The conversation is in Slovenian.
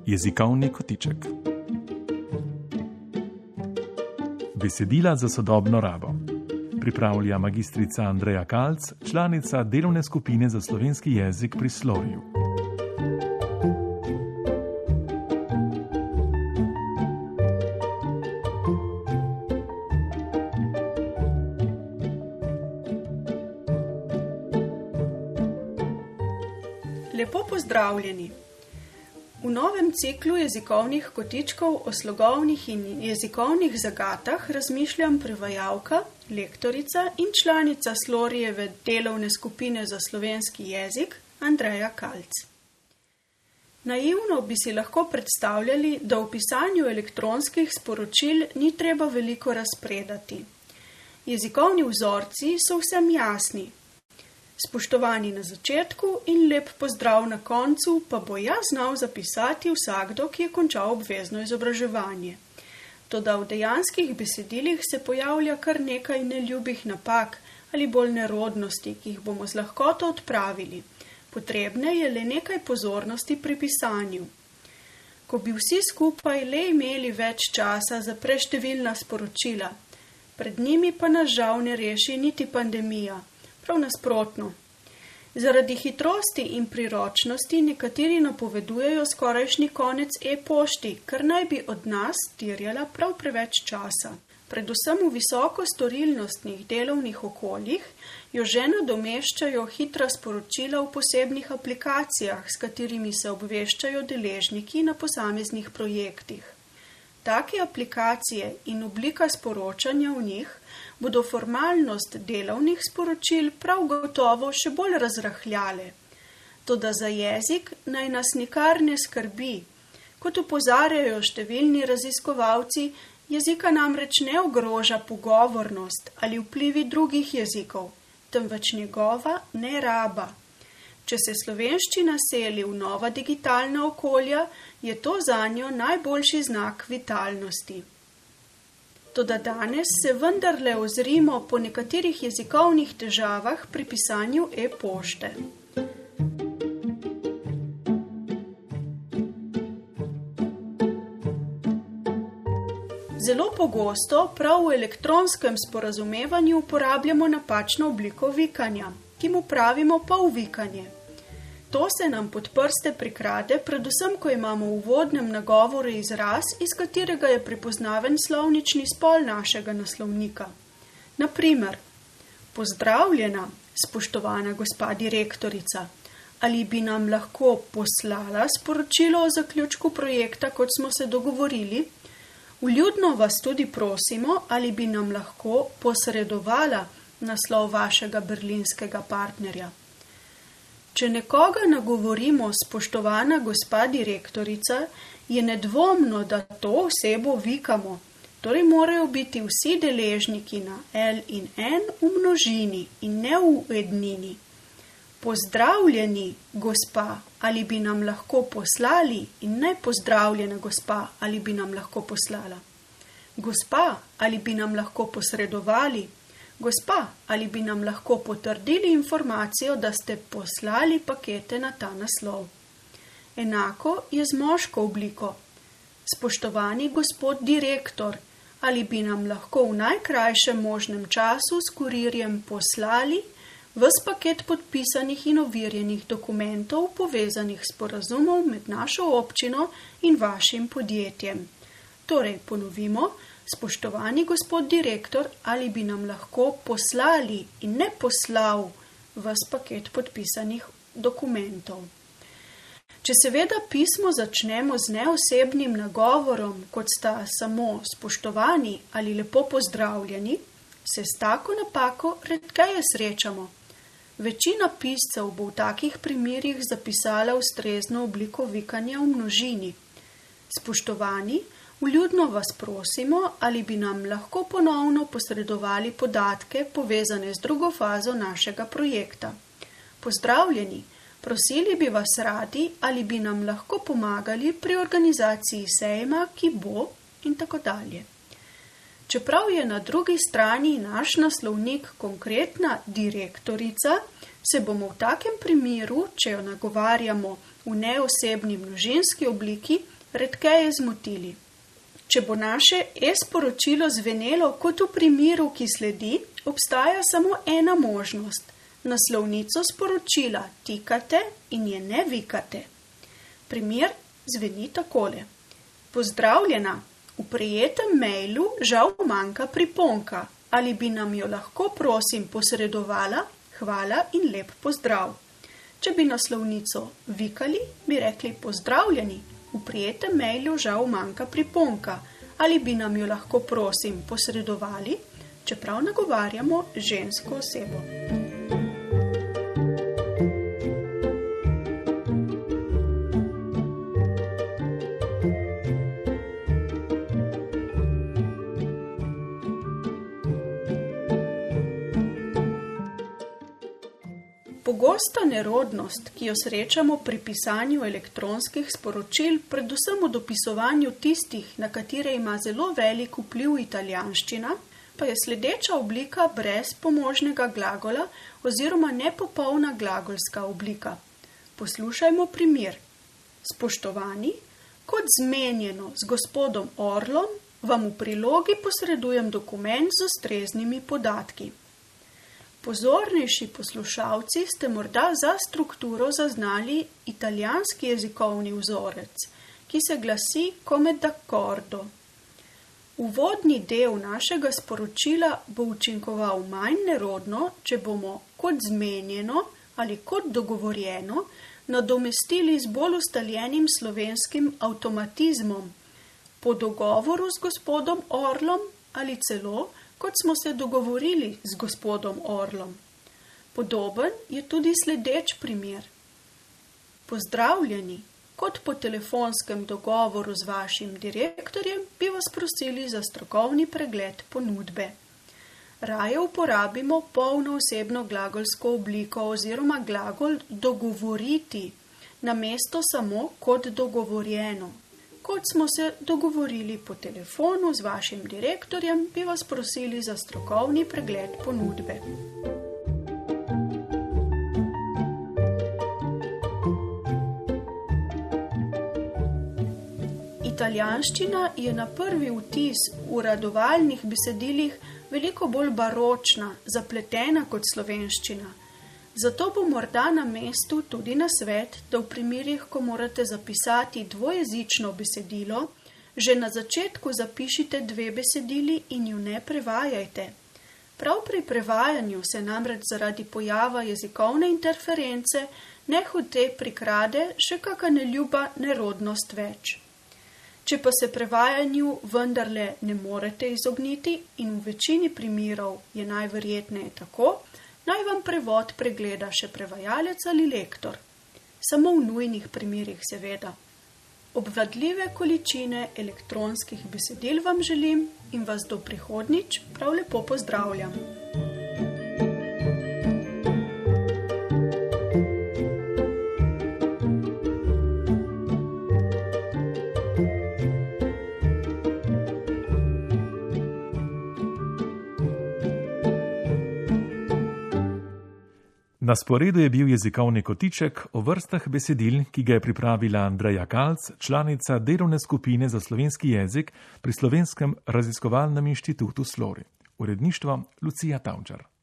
Jezikovni kotiček. Besedila za sodobno rabo. Pripravlja magistrica Andreja Kalc, članica delovne skupine za slovenski jezik pri Slovju. Lepo pozdravljeni! V novem ciklu jezikovnih kotičkov o slogovnih in jezikovnih zagatah razmišljam prevajalka, lektorica in članica Slorijeve delovne skupine za slovenski jezik Andreja Kalc. Naivno bi si lahko predstavljali, da v pisanju elektronskih sporočil ni treba veliko razpredati. Jezikovni vzorci so vsem jasni. Spoštovani na začetku in lep pozdrav na koncu pa bo znal zapisati vsakdo, ki je končal obvezno izobraževanje. Toda v dejanskih besedilih se pojavlja kar nekaj neljubih napak ali bolj nerodnosti, ki jih bomo z lahkoto odpravili. Potrebne je le nekaj pozornosti pri pisanju. Ko bi vsi skupaj le imeli več časa za preštevilna sporočila, pred njimi pa nas žal ne reši niti pandemija. Prav nasprotno. Zaradi hitrosti in priročnosti nekateri napovedujejo skorajšnji konec e-pošti, kar naj bi od nas terjala prav preveč časa. Predvsem v visoko storilnostnih delovnih okoljih jo že nadomeščajo hitra sporočila v posebnih aplikacijah, s katerimi se obveščajo deležniki na posameznih projektih. Take aplikacije in oblika sporočanja v njih bodo formalnost delovnih sporočil prav gotovo še bolj razrahljale. Toda za jezik naj nas nikar ne skrbi. Kot opozarjajo številni raziskovalci, jezika namreč ne ogroža pogovornost ali vplivi drugih jezikov, temveč njegova neraba. Če se slovenščina seli v nova digitalna okolja, je to zanjo najboljši znak vitalnosti. Toda danes se vendarle ozrimo po nekaterih jezikovnih težavah pri pisanju e-pošte. Zelo pogosto prav v elektronskem sporazumevanju uporabljamo napačno obliko vikanja, ki mu pravimo polvikanje. To se nam pod prste prikrade, predvsem ko imamo v uvodnem nagovoru izraz, iz katerega je prepoznaven slovnični spol našega naslovnika. Na primer, pozdravljena, spoštovana gospa direktorica, ali bi nam lahko poslala sporočilo o zaključku projekta, kot smo se dogovorili? Vljudno vas tudi prosimo, ali bi nam lahko posredovala naslov vašega berlinskega partnerja. Če nekoga nagovorimo spoštovana gospa direktorica, je nedvomno, da to osebo vikamo, torej morajo biti vsi deležniki na L in N v množini in ne v ednini. Pozdravljeni, gospa, ali bi nam lahko poslali in ne pozdravljena gospa, ali bi nam lahko poslala. Gospa, ali bi nam lahko posredovali. Gospa, ali bi nam lahko potrdili informacijo, da ste poslali pakete na ta naslov. Enako je z moško obliko. Spoštovani gospod direktor, ali bi nam lahko v najkrajšem možnem času s kurirjem poslali ves paket podpisanih in overjenih dokumentov povezanih sporazumov med našo občino in vašim podjetjem. Torej, ponovimo, spoštovani gospod direktor, ali bi nam lahko poslali in ne poslal ves paket podpisanih dokumentov. Če seveda pismo začnemo z neosebnim nagovorom, kot sta samo spoštovani ali lepo pozdravljeni, se s tako napako redkeje srečamo. Večina piscev bo v takih primerih zapisala ustrezno obliko vikanja v množini. Spoštovani, vljudno vas prosimo, ali bi nam lahko ponovno posredovali podatke povezane z drugo fazo našega projekta. Pozdravljeni, prosili bi vas radi, ali bi nam lahko pomagali pri organizaciji sejma, ki bo in tako dalje. Čeprav je na drugi strani naš naslovnik konkretna direktorica, se bomo v takem primeru, če jo nagovarjamo v neosebni množinski obliki, redkeje zmotili. Če bo naše e-sporočilo zvenelo kot v primeru, ki sledi, obstaja samo ena možnost. Naslovnico sporočila tikate in je ne vikate. Primer zveni takole. Pozdravljena, v prejetem mailu žal manjka priponka. Ali bi nam jo lahko prosim posredovala? Hvala in lep pozdrav. Če bi naslovnico vikali, bi rekli pozdravljeni, v prejetem mailu žal manjka priponka. Ali bi nam jo lahko prosim posredovali, čeprav nagovarjamo žensko osebo. Pogosta nerodnost, ki jo srečamo pri pisanju elektronskih sporočil, predvsem v dopisovanju tistih, na katere ima zelo velik vpliv italijanščina, pa je sledeča oblika brez pomožnega glagola oziroma nepopolna glagolska oblika. Poslušajmo primer. Spoštovani, kot zmenjeno z gospodom Orlom, vam v prilogi posredujem dokument z ustreznimi podatki. Pozornejši poslušalci ste morda za strukturo zaznali italijanski jezikovni vzorec, ki se glasi come d'accordo. Uvodni del našega sporočila bo učinkoval manj nerodno, če bomo kot zmenjeno ali kot dogovorjeno nadomestili z bolj ustaljenim slovenskim avtomatizmom, po dogovoru z gospodom Orlom ali celo kot smo se dogovorili z gospodom Orlom. Podoben je tudi sledeč primer. Pozdravljeni, kot po telefonskem dogovoru z vašim direktorjem bi vas prosili za strokovni pregled ponudbe. Raje uporabimo polnoosebno glagolsko obliko oziroma glagol dogovoriti, namesto samo kot dogovorjeno. Kot smo se dogovorili po telefonu z vašim direktorjem, bi vas prosili za strokovni pregled ponudbe. Italijanščina je na prvi vtis v uradovalnih besedilih veliko bolj baročna, zapletena kot slovenščina. Zato bo morda na mestu tudi nasvet, da v primerih, ko morate zapisati dvojezično besedilo, že na začetku zapišite 2 besedili in ju ne prevajajte. Prav pri prevajanju se namreč zaradi pojava jezikovne interference nehote prikrade še kaka neljuba nerodnost več. Če pa se prevajanju vendarle ne morete izogniti in v večini primerov je najverjetneje tako, naj vam prevod pregleda še prevajalec ali lektor. Samo v nujnih primerih seveda. Obvladljive količine elektronskih besedil vam želim in vas do prihodnjič prav lepo pozdravljam. Na sporedu je bil jezikovni kotiček o vrstah besedil, ki ga je pripravila Andreja Kalc, članica delovne skupine za slovenski jezik pri Slovenskem raziskovalnem inštitutu Slori. Uredništvo Lucija Tavčar.